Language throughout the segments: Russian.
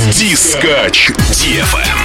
Дискач DFM.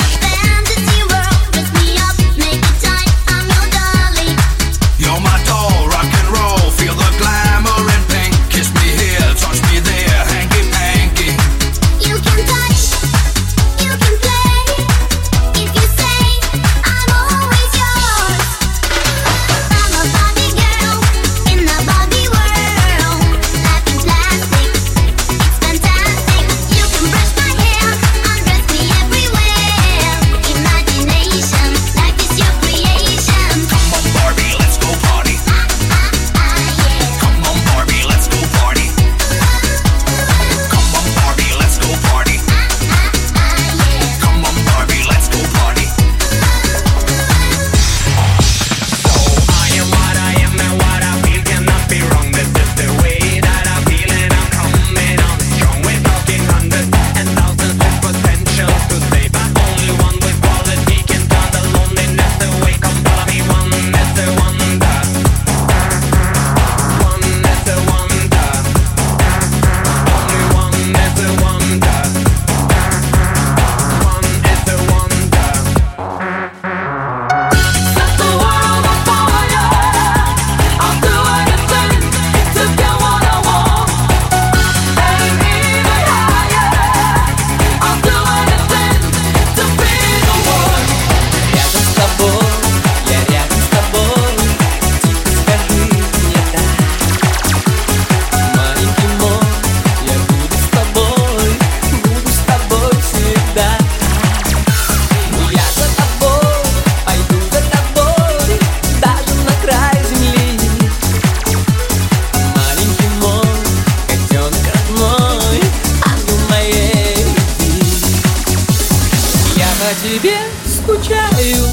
Тебе скучаю,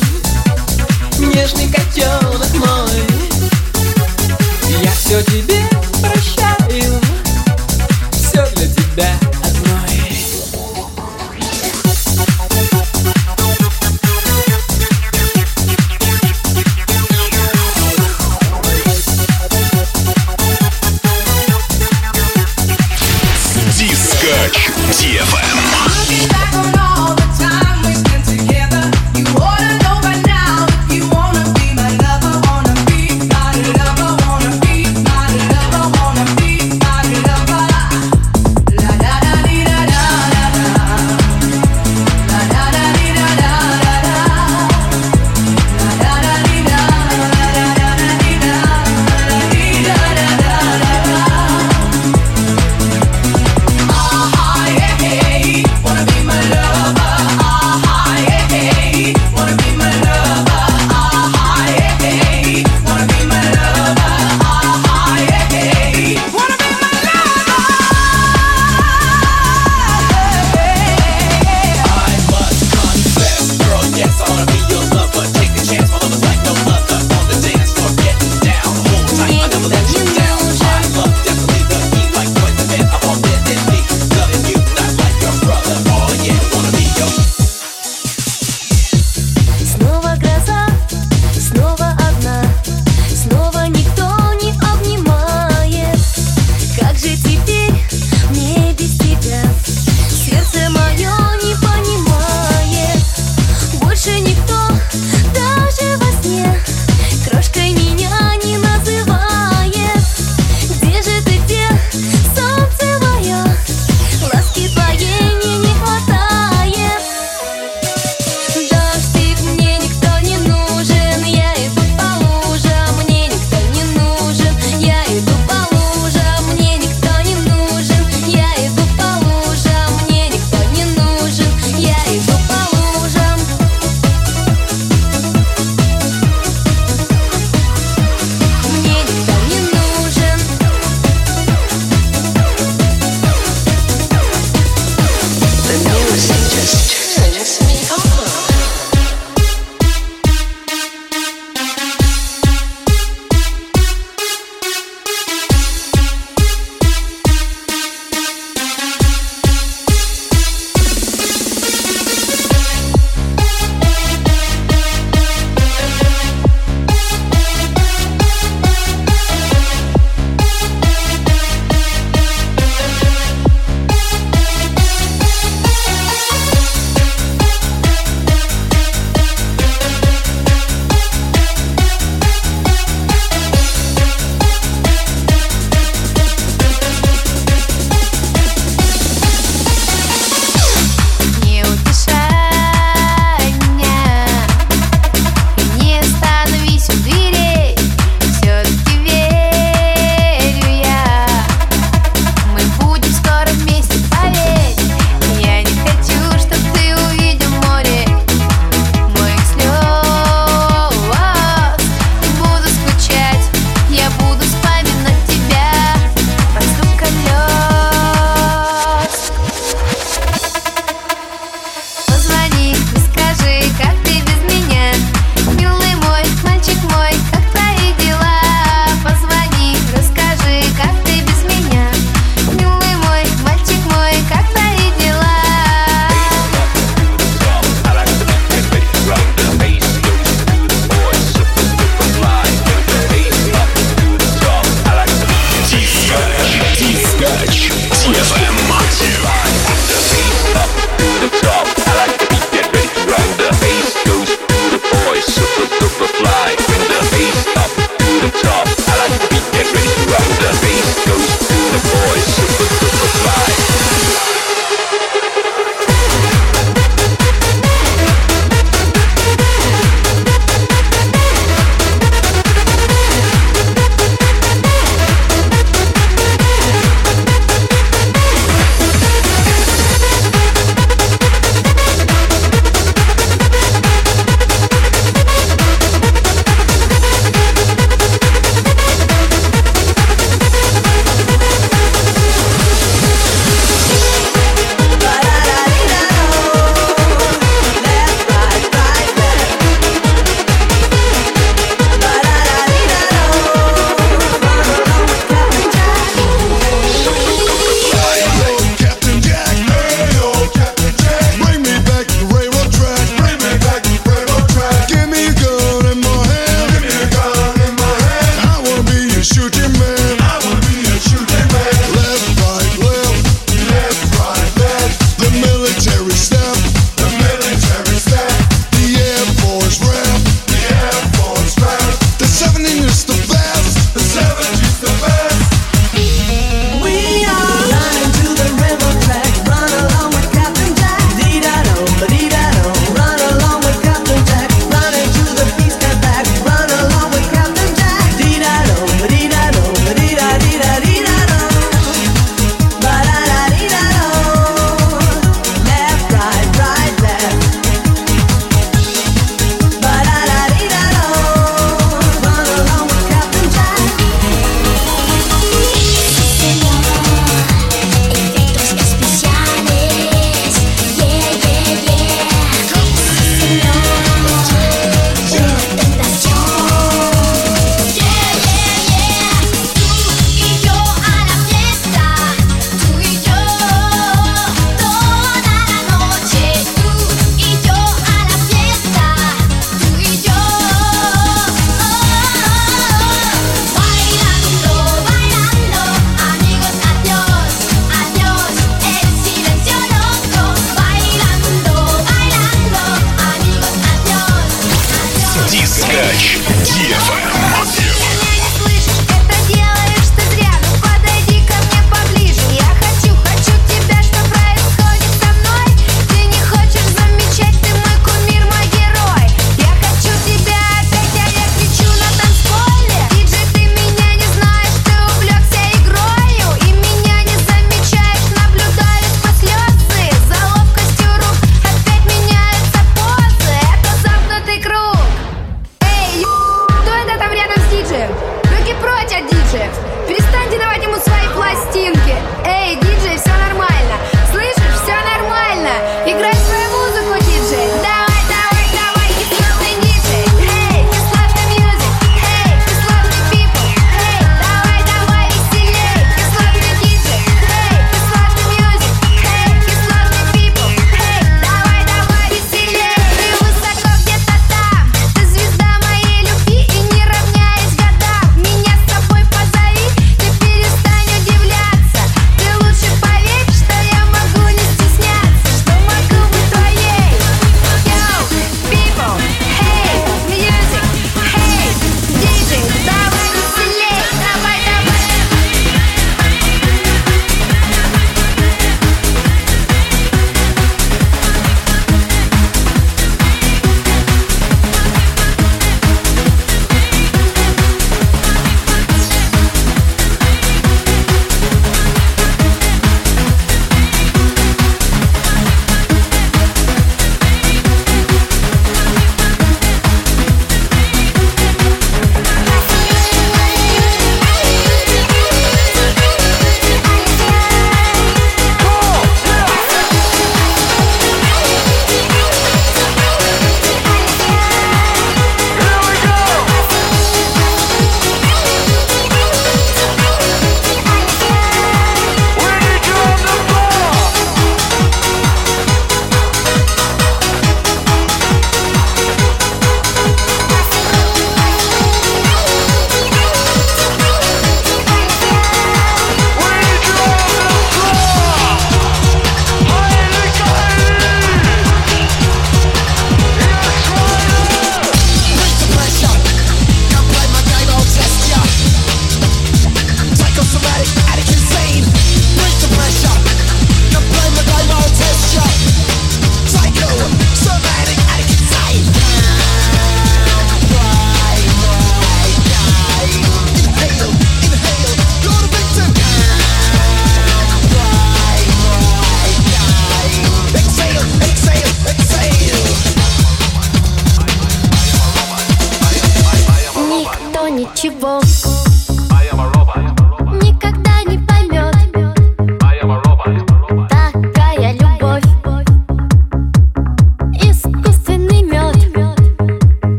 нежный котенок мой. Я все тебе прощаю, все для тебя одной. Дискач DFM. Wanna be my love. Left, right,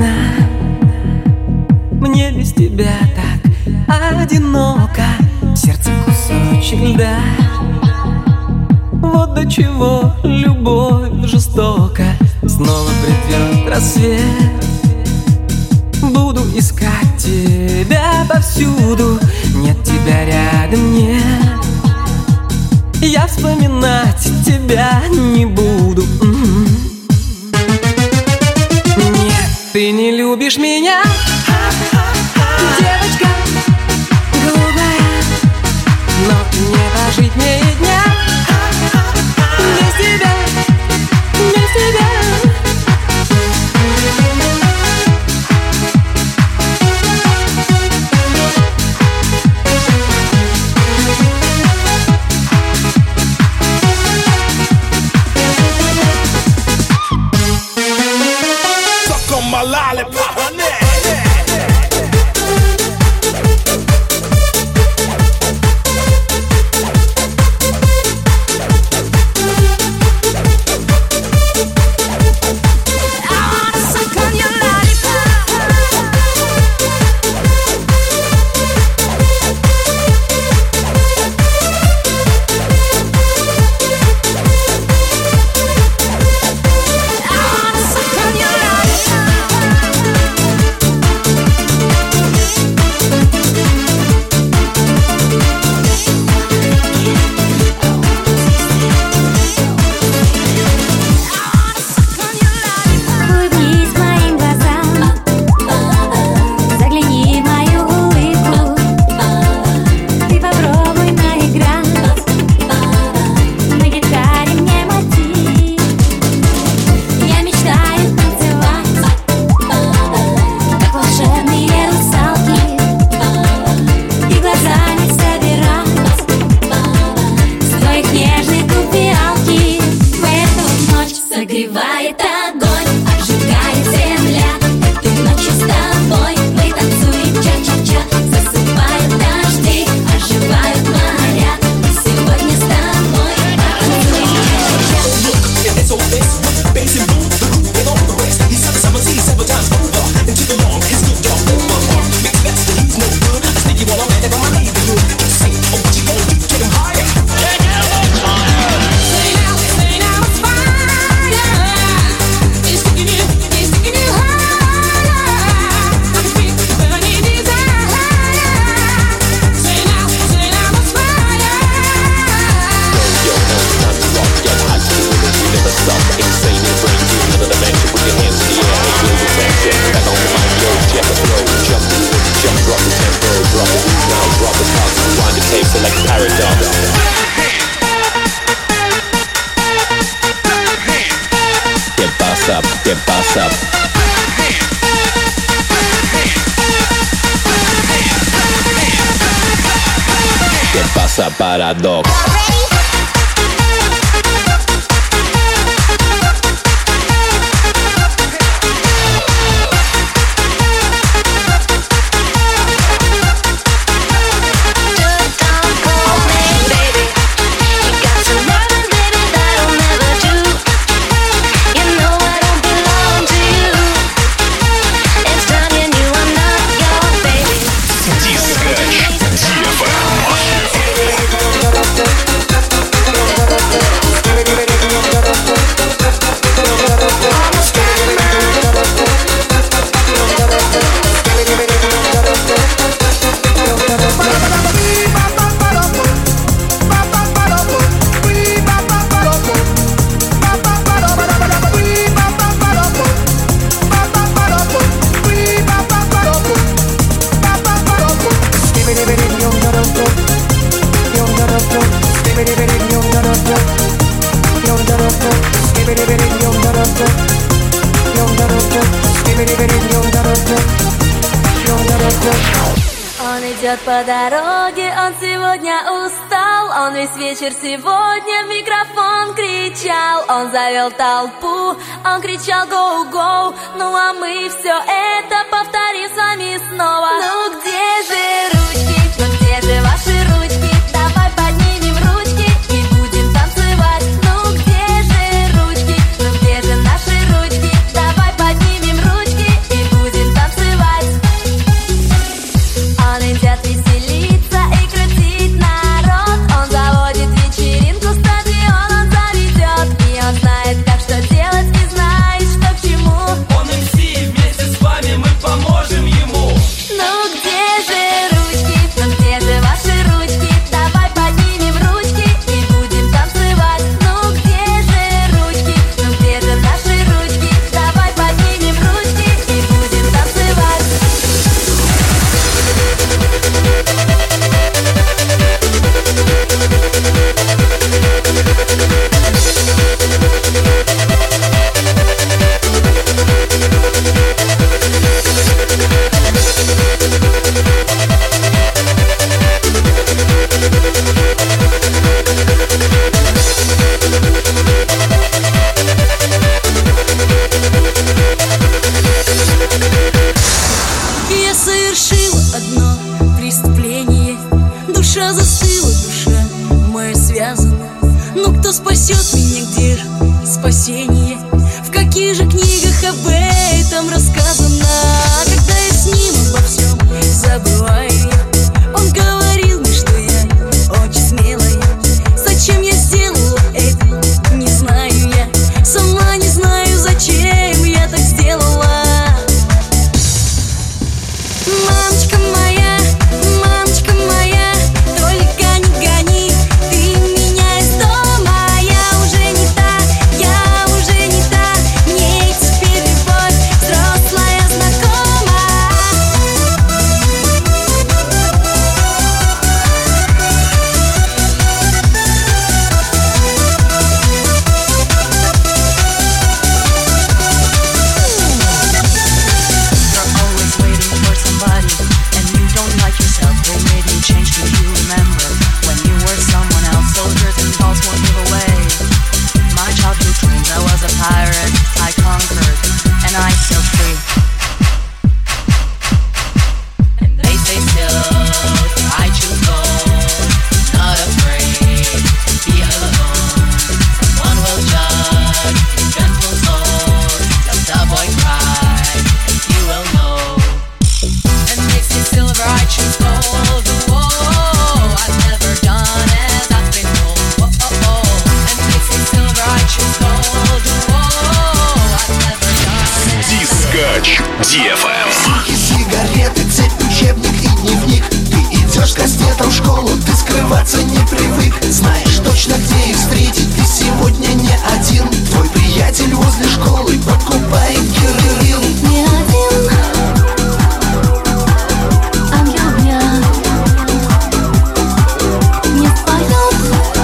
одна. Мне без тебя так одиноко, в сердце кусочек льда. Вот до чего любовь жестока. Снова придет рассвет, буду искать тебя повсюду. Нет тебя рядом, нет. Я вспоминать тебя не буду. Нет, ты не любишь меня, девочка голубая, но не прожить мне и дня без тебя, без тебя. Suck on my lollipop, honey. Согревает огонь, обжигает земля. Этой ночью с тобой мы танцуем ча-ча-ча. Засыпают дожди, оживают моря. И сегодня с тобой потанцуем ча-ча-ча. It's all this with the bass and boom, the groove and all the rest. He's had the summer sea several times over, and to the long, his good job over. Makes best that he's no good. I think you wanna man it on my neighborhood. Say, oh, what you gonna do? Get him higher. Say now, it's fire. It's taking you higher. I can feel the burning desire. Say now, it's fire. Yo, no time to rock, get hot, you never stop. Insane, it brings you another dimension. Put your hands in the air, hey, feel the tension. Back on the mic, yo, check the flow. Jump to it, jump, drop the tempo. Drop the beat now, drop the cuts. Rewind the tape, select paradox. Get boss up, get boss up. ¿Qué pasa, paradox? Он идет по дороге, он сегодня устал. Он весь вечер сегодня в микрофон кричал. Он завел толпу, он кричал «Гоу-гоу». Ну а мы все это повторим с вами снова. Ну где же ручки, ну где же ваши ручки? Давай поднимем ручки и будем танцевать. Ну где же ручки, ну где же наши ручки? Давай поднимем ручки и будем несет меня, где же спасение? В каких же книгах об этом рассказано? Когда я с ним обо всем забываю я, он говорил мне, что я очень смелая. Зачем я сделала это, не знаю я. Сама не знаю, зачем я так сделала. Мамочка моя, только не гони ты меня из дома. Я уже не та, мне теперь любовь взрослая знакома. You're always waiting for somebody, and you don't like yourself. They made you change, do you remember when you were someone else? Soldiers and dolls won't give away my childhood dreams. I was a pirate, I conquered, and I still free. And they say still, I choose gold, not afraid to be alone. Someone will judge your gentle soul. Let the boy cry, and you will know. And they say silver, I choose gold. Whoa, I've never done as I've been told. And they say silver, I choose gold. Whoa, I've never done as Дискач DFM. Сигареты, цепь, учебник и дневник. Ты идешь кастетом в школу, ты скрываться не привык. Знаешь точно, где их встретить, ты сегодня не один. Твой приятель возле школы покупает героин. Не один, ангел дня не споет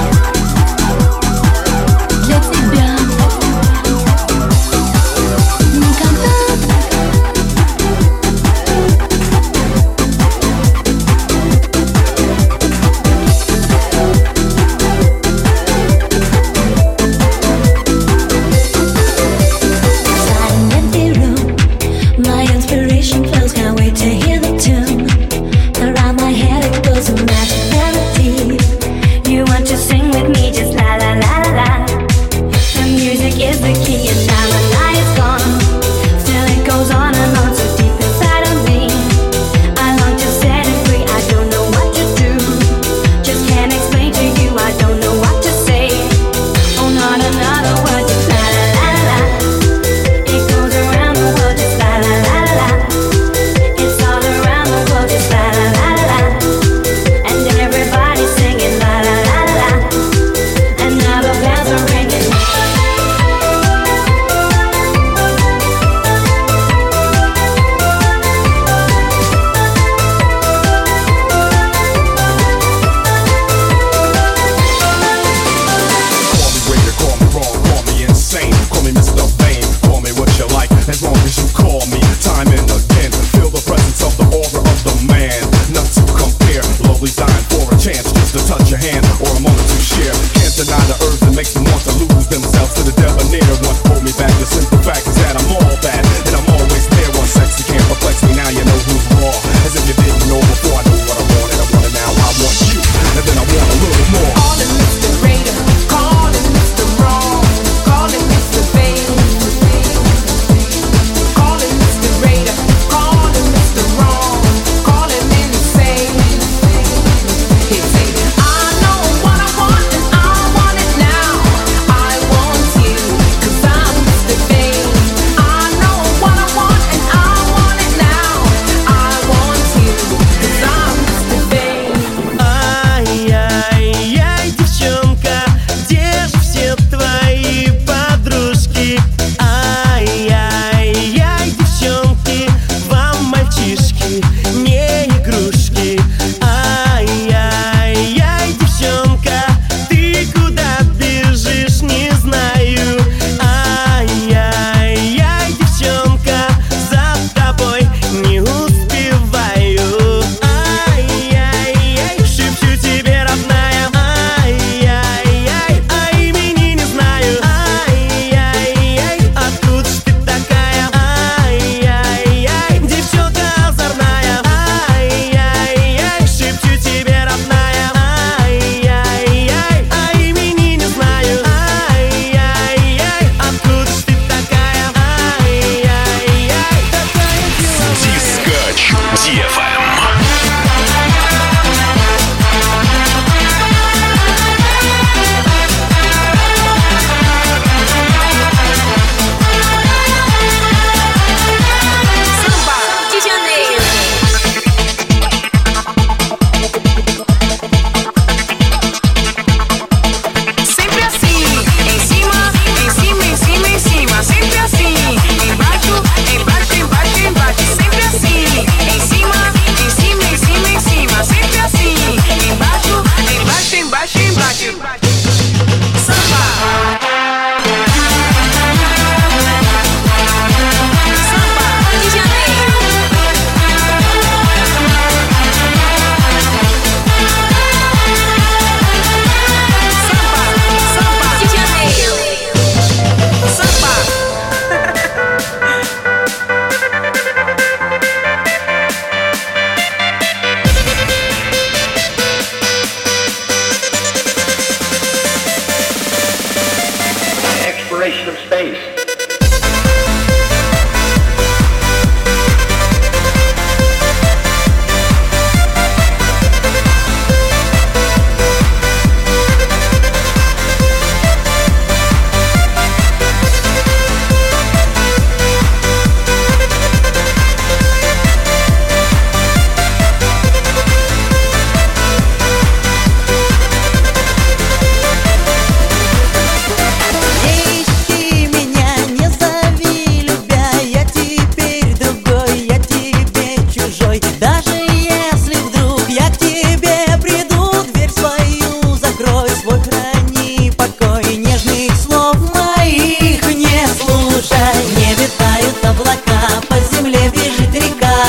для тебя никогда. Silent room,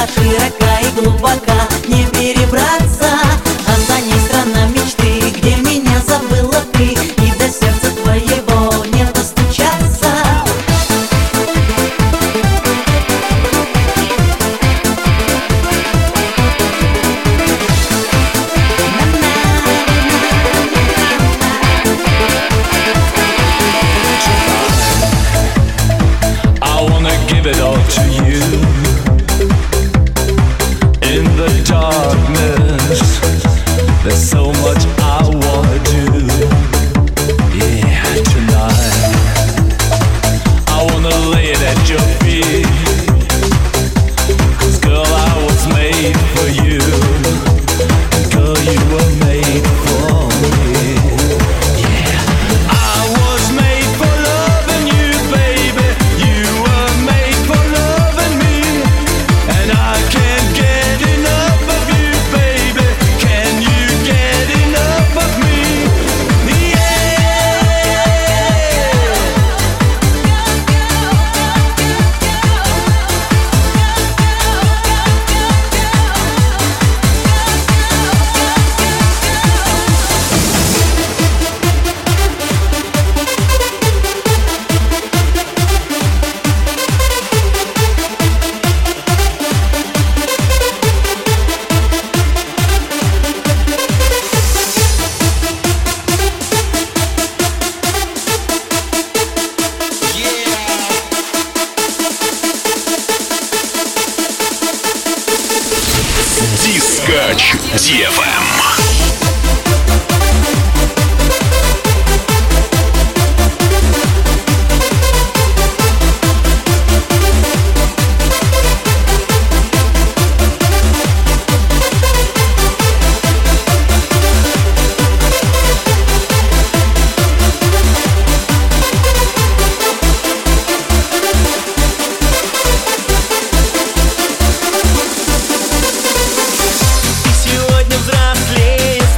широка и глубока, не перебраться, а за ней страна мечты, где меня забыла ты, и до сердца твоего не достучаться. I wanna give it all to you. In the darkness, there's so much I wanna do. Yeah, tonight I wanna lay it at your feet. 'Cause girl, I was made for you. Girl, you were made for me. Yeah, I was made for loving you, baby. You were made for loving me. And I can't get enough of you, baby. Can you get enough of me? Дискач DFM. Сегодня взрослее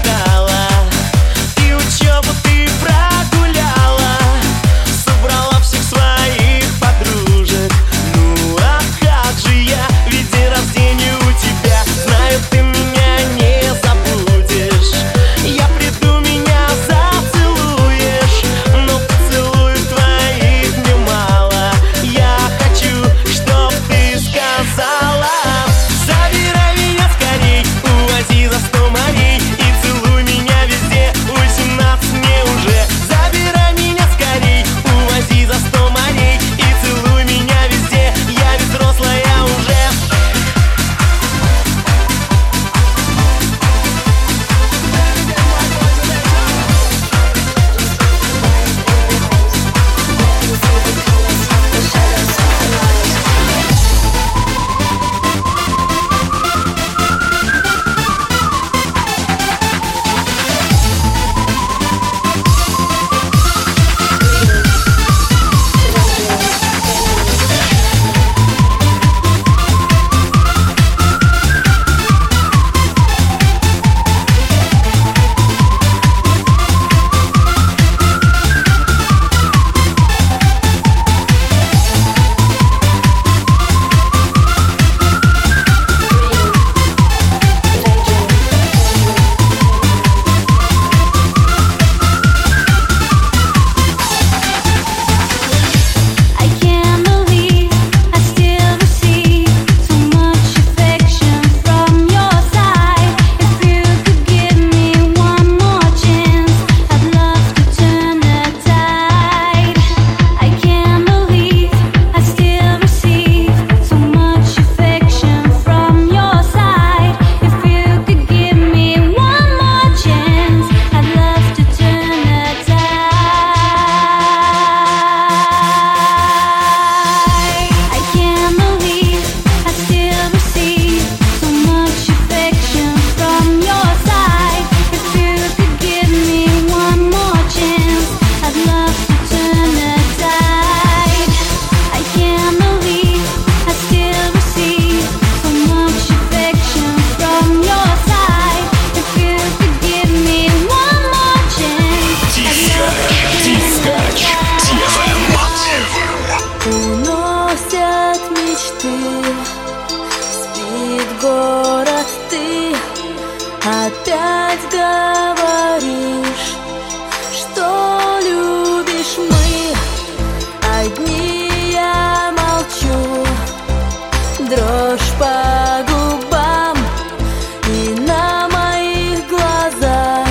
дрожь по губам, и на моих глазах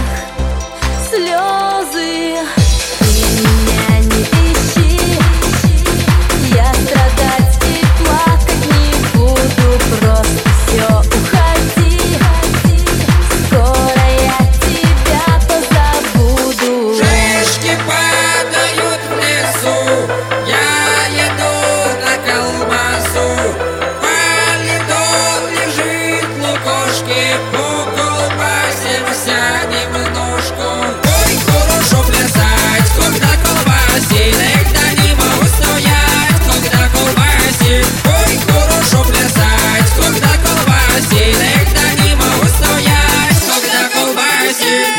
слезы. Ты меня не ищи, я страдать и плакать не буду, просто все уходи, скоро я тебя позабуду. Шишки падают в лесу, я еду на колбасу. По льду лежит лукошки, по колбасе сядем в ножку. Ой, хорошо плясать, когда колбасит, да не могу стоять, когда колбасит. Ой, хорошо плясать, когда колбасит, да не могу стоять, когда колбасит.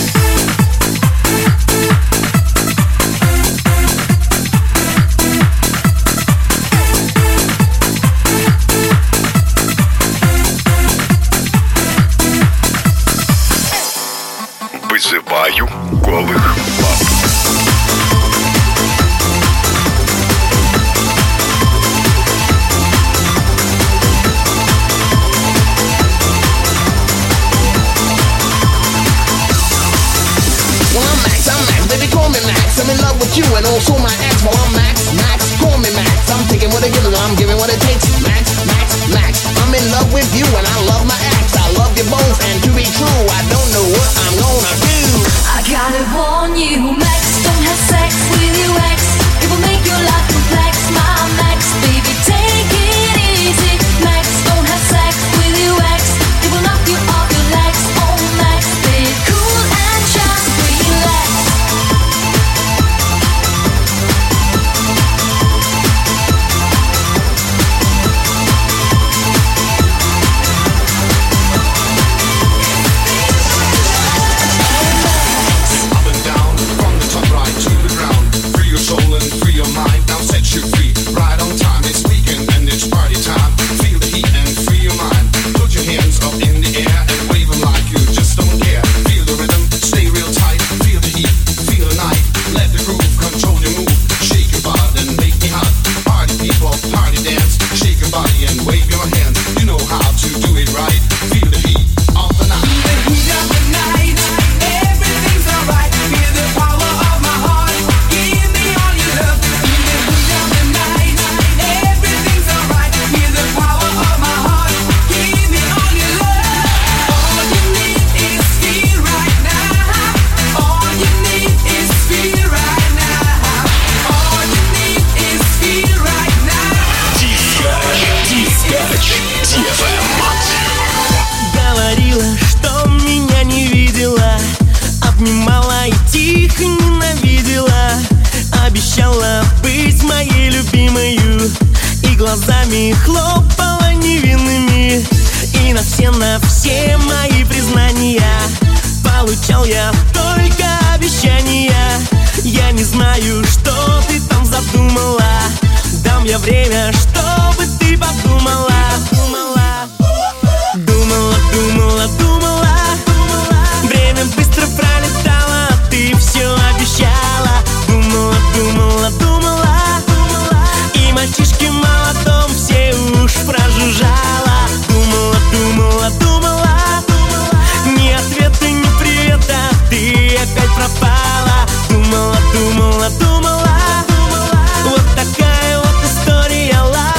Вызываю голых баб. Well, I'm Max, baby, call me Max. I'm in love with you and also my ex. Well, I'm Max, call me Max. I'm taking what it gives, I'm giving what it takes. Max, I'm in love with you and I love my ex. I love you both, and to be true, I don't know what I'm gonna do. I gotta warn you, Max, don't have sex with your ex. It will make your life complex, my Max. Baby, take it easy. Max, don't have sex with your ex. It will knock you off your legs. Oh, Max, be cool and just relax. Up and down, from the top right to the ground. Free your soul and free your mind. Now set you free. Right on time, it's weekend and it's party time. Feel the heat and free your mind. Put your hands up in the air and wave them like you just don't care. Feel the rhythm, stay real tight. Feel the heat, feel the night. Let the groove control your move. Shake your body and make me hot. Party people, party dance. Shake your body and wave your hand. You know how to do it right. Feel the heat of the night. Everything's alright. Feel the power of my heart. Give me all your love. In the heat of the night. Everything's alright. Feel the power of my heart. Give me all your love. All you need is feel right now. All you need is feel right now. All you need is feel right now. Дискач DFM. Говорила, что меня не видела, обнимала и тихо ненавидела. Обещала быть моей любимою и глазами хлопала невинными. И на все мои признания получал я только обещания. Я не знаю, что ты там задумала. Дам я время, чтобы ты подумала. Думала. Время быстро пролетало, ты все обещала. Думала. И мальчишки молотом все уж прожужжала. Думала. Ни ответа, ни привета, ты опять пропала. Думала. Вот такая вот история.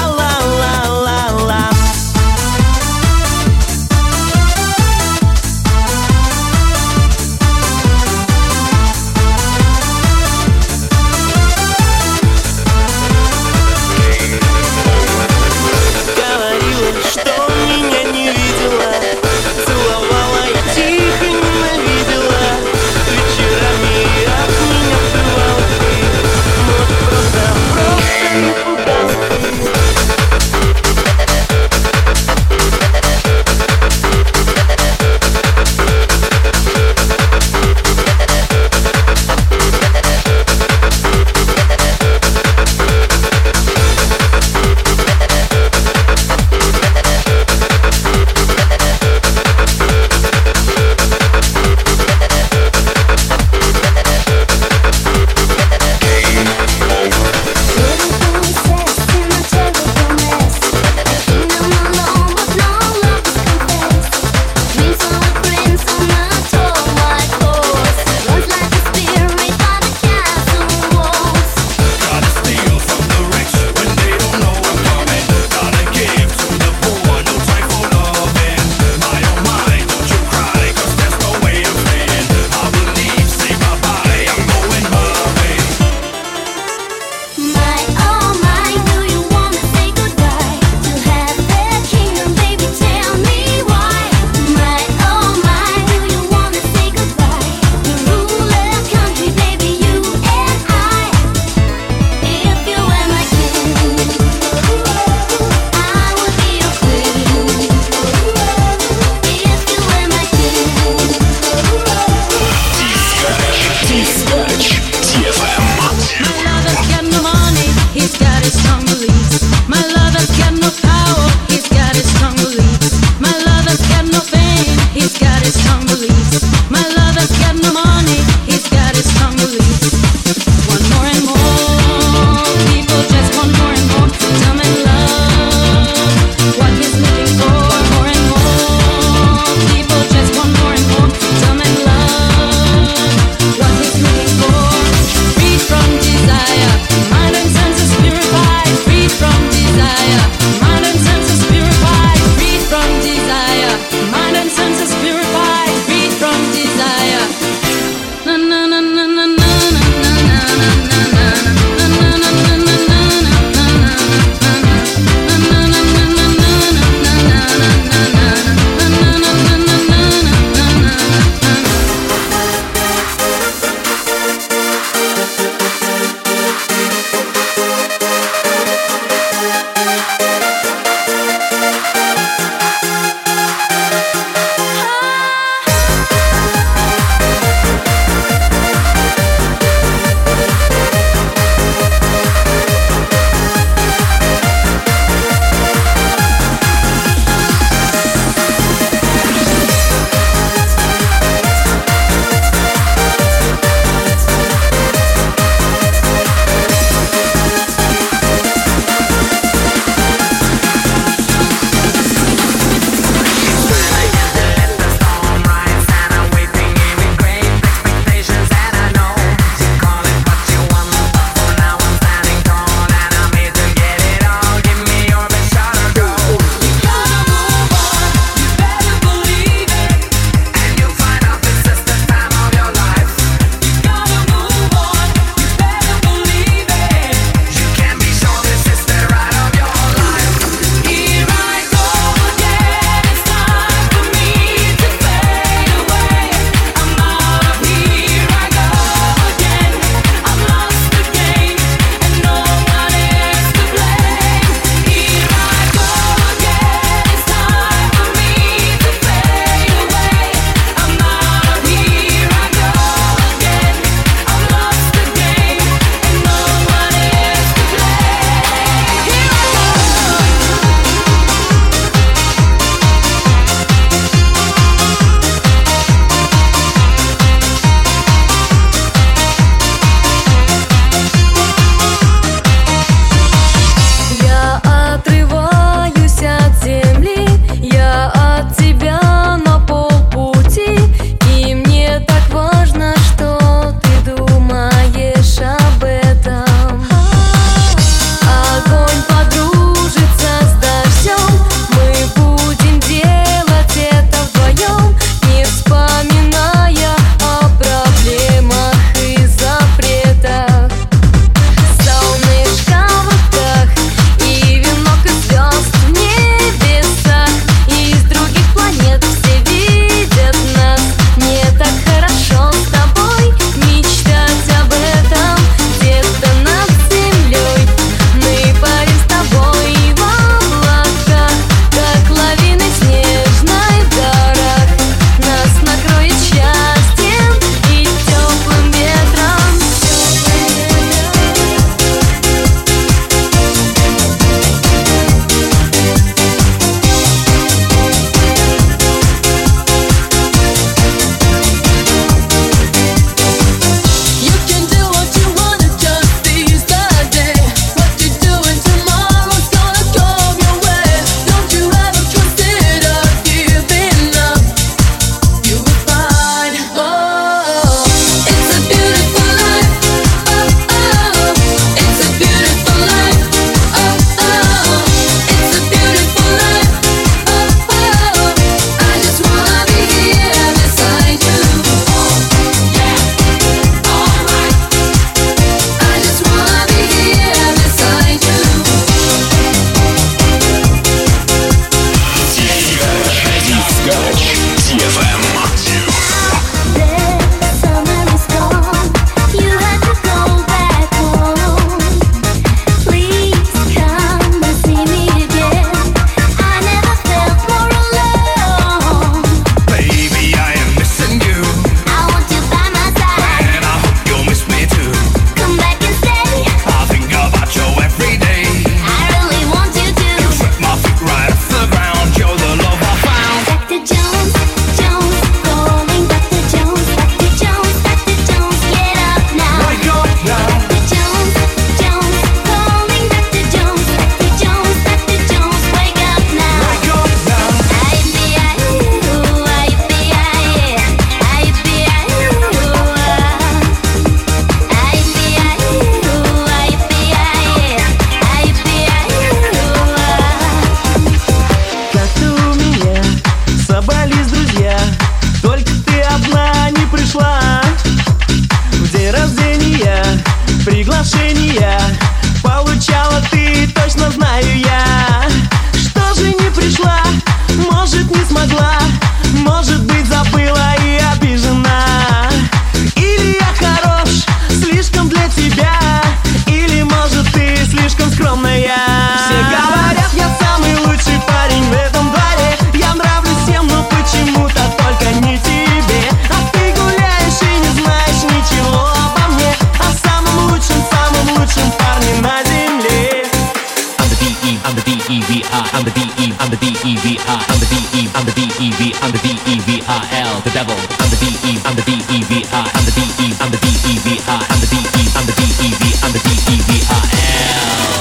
D-E-V-I, I'm the D-E, I'm the D-E-V, I'm the D-E-V-I-L, the devil. I'm the D-E, I'm the D-E-V-I, I'm the D-E, I'm the D-E-V-I, I'm the D-E, I'm the D-E-V, I'm the D-E-V-I-L.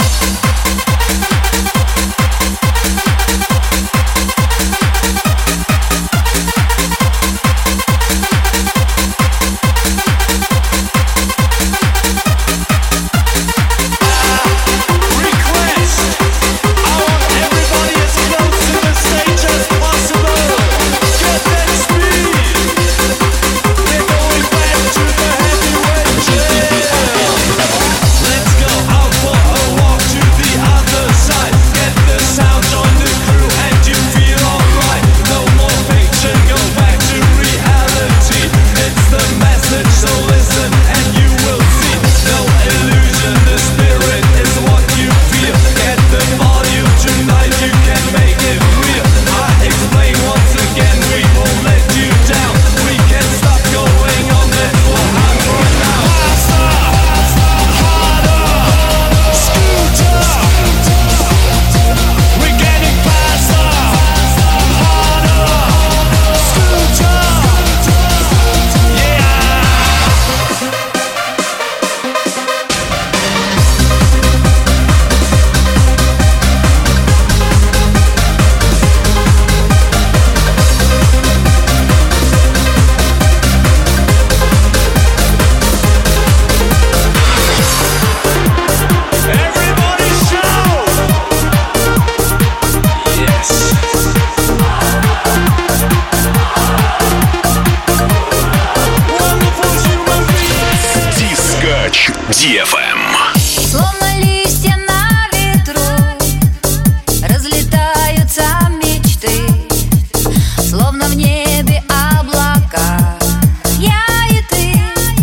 DFM. Словно листья на ветру разлетаются мечты, словно в небе облака. Я и ты,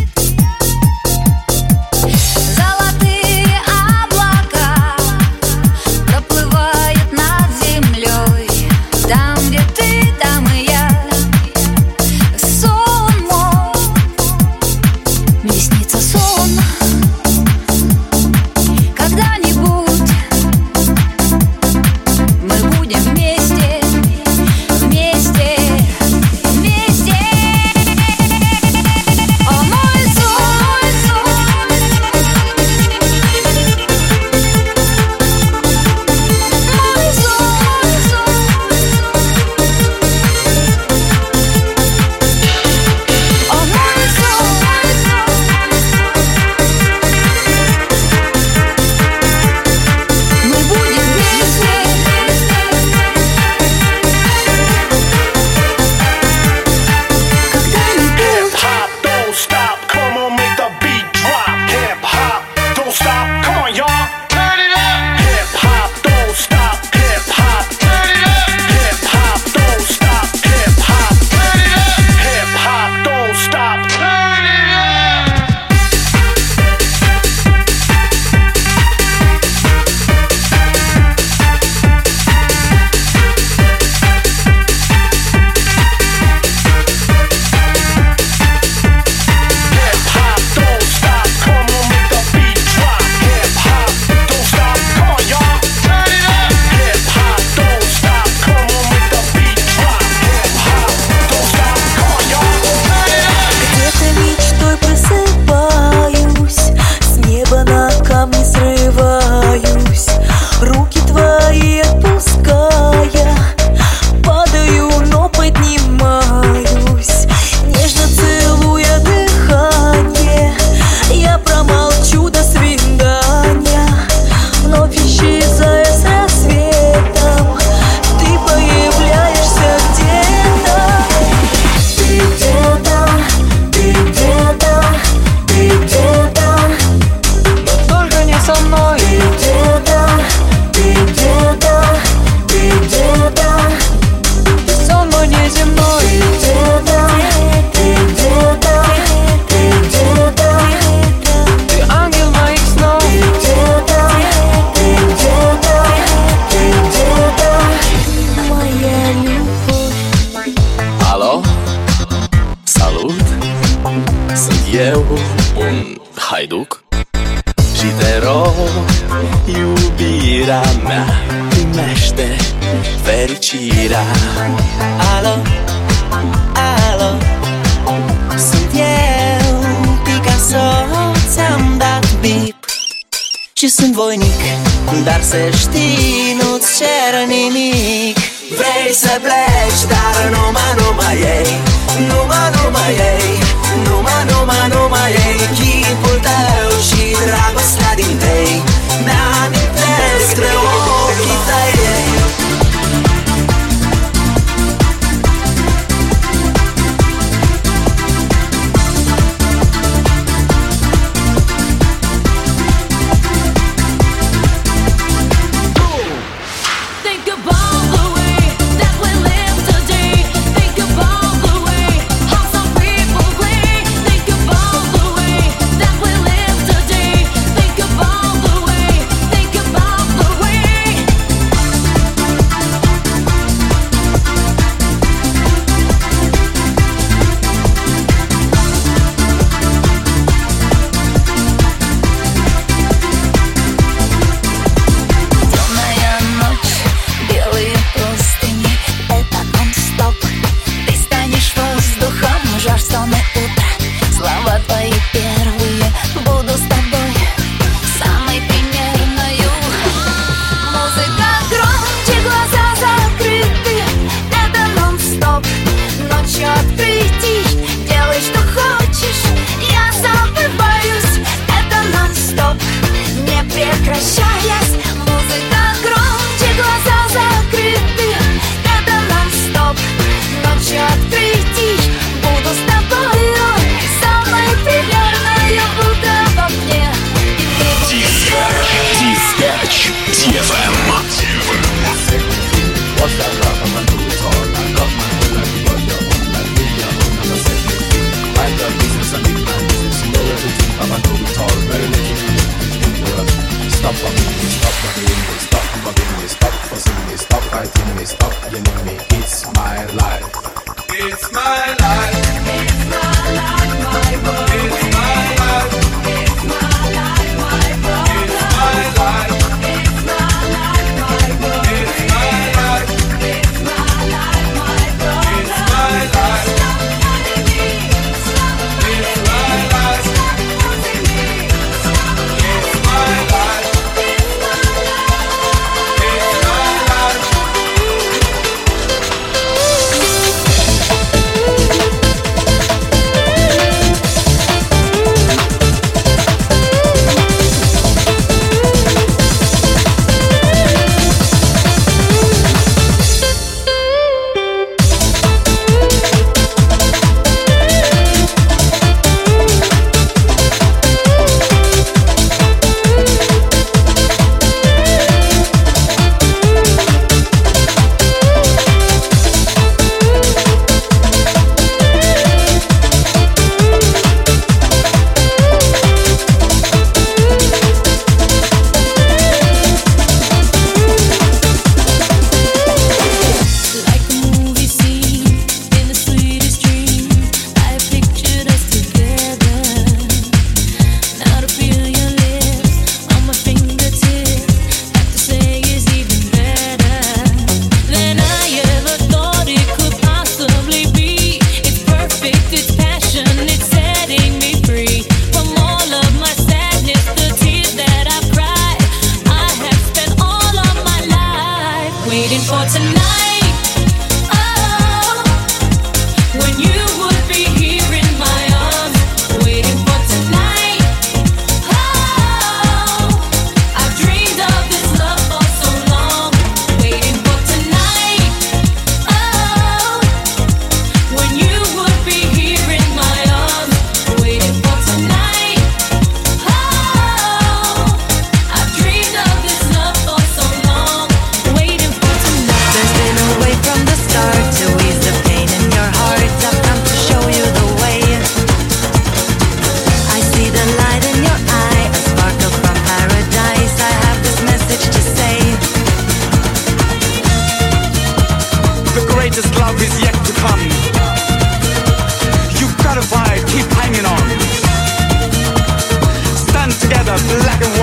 золотые облака проплывают над землей. Там, где ты, там и я. Сон мой, мне снится сон. Когда-нибудь мы будем вместе, вместе, вместе. О, мой сон, мой сон. О, мой сон. Мы будем вместе. Hip hop, don't stop, come on, make the beat drop. Hip hop, don't stop, come on, y'all. Turn it up. Hip hop, don't stop, hip hop. Turn it up. Hip hop, don't stop, hip hop. Turn it up. Hip hop, don't stop. Turn it up. Hip hop, don't stop, come on, make the beat drop. Hip hop, don't stop, come on, y'all. Turn it up. Hip hop, don't stop, come on, make the beat drop. Hip hop, don't stop, come on, y'all. Turn it up. Где-то мечтой просыпаюсь, с неба на камни срываюсь, руки твои отпуская, падаю, но поднимаюсь, нежно целуя дыхание. Я промолчу до свидания, вновь исчезая с рассветом, ты появляешься где-то. Ты где-то, ты где-то, ты где-то, но только не со мной. Ты где-то, ты где-то, ты сон мой неземной. Ты где-то, ты где-то, ты ангел моих снов. Ты где-то, моя любовь. Allo? Salut! Sunt eu, un haiduc și te rog, iubirea mea, primește fericirea. respira. Alo, alo, sunt eu, Picasso, ți-am dat bip și sunt voinic, dar să știi, nu-ți cer nimic. Vrei să pleci, dar numai ei, numai ei, numai ei, chipul tău și dragostea din tei mi-amintesc de ochii tăi.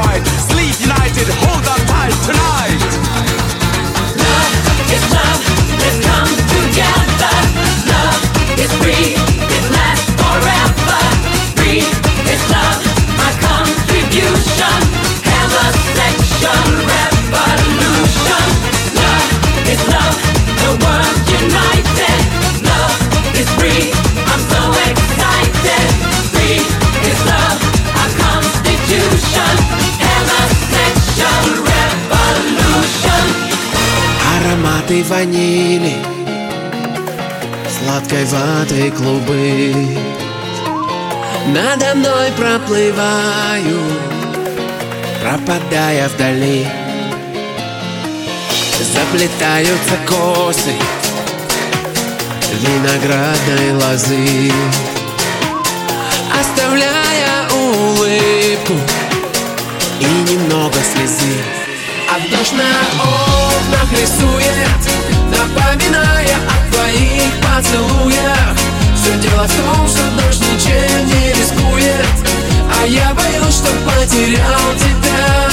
United, hold on tight tonight. Love is love. ванили, сладкой ватой клубы надо мной проплываю, пропадая вдали. Заплетаются косы виноградной лозы, оставляя улыбку и немного слезы. А дождь на окнах рисует, напоминая о твоих поцелуях. Все дело в том, что дождь ничем не рискует, а я боюсь, что потерял тебя.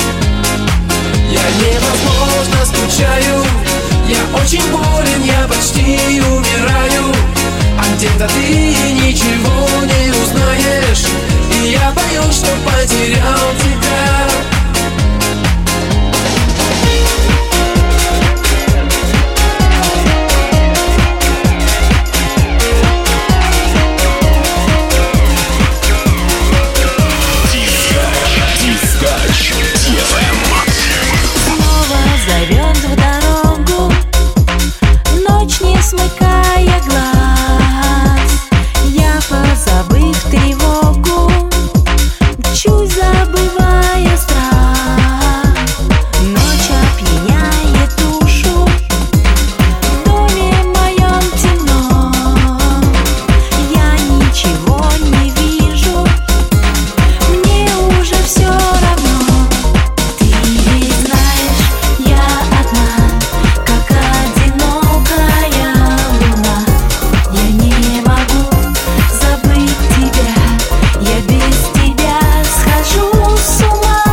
Я невозможно скучаю, я очень болен, я почти умираю. А где-то ты ничего не узнаешь, и я боюсь, что потерял тебя. Снова зовет в дорогу, ночь не смыкая глаз. Я, позабыв тревогу, мчусь, забывая страх. Ночь опьяняет душу, в доме моем темно. Я ничего не вижу, мне уже все равно. Ты ведь знаешь, я одна, как одинокая луна. Я не могу забыть тебя, я без тебя схожу с ума.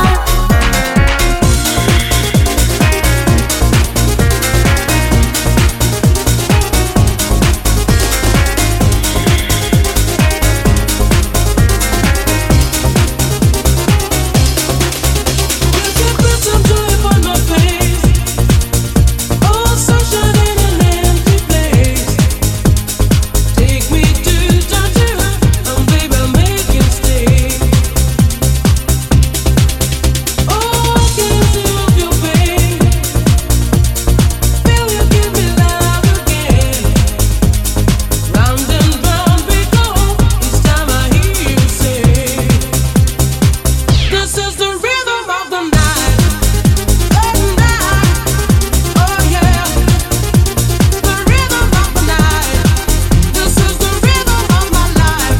This is the rhythm of the night, oh yeah. The rhythm of the night. This is the rhythm of my life,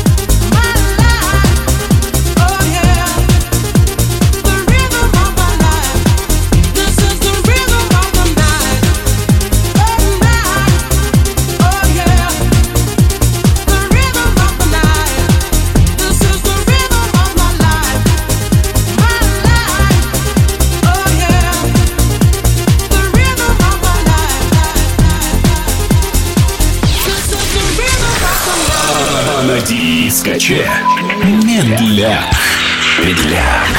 oh yeah. The rhythm of my life. This is the rhythm of the night, oh yeah. The rhythm of the night. This is the rhythm of my life. На дискоче медляк, медляк.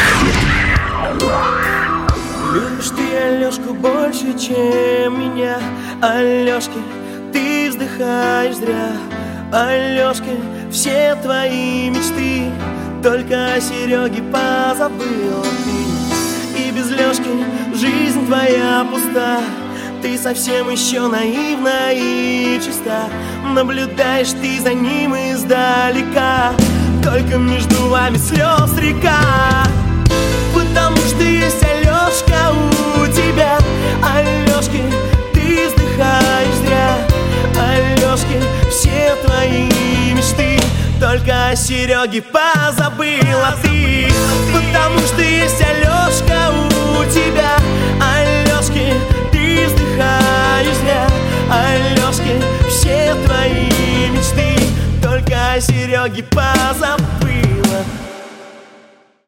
Любишь ты Алёшку больше, чем меня. Алёшки, ты вздыхаешь зря. Алёшки, все твои мечты только о Серёге позабыла ты. И без Лёшки жизнь твоя пуста. Ты совсем еще наивна и чиста. Наблюдаешь ты за ним издалека, только между вами слез река. Потому что есть Алёшка у тебя. Алёшки, ты вздыхаешь зря. Алёшки, все твои мечты только о Серёге позабыла ты. Потому что есть Алёшка у тебя. Алёшки, ты вздыхаешь зря. Алёшки, все твои мечты только о Серёге позабыла.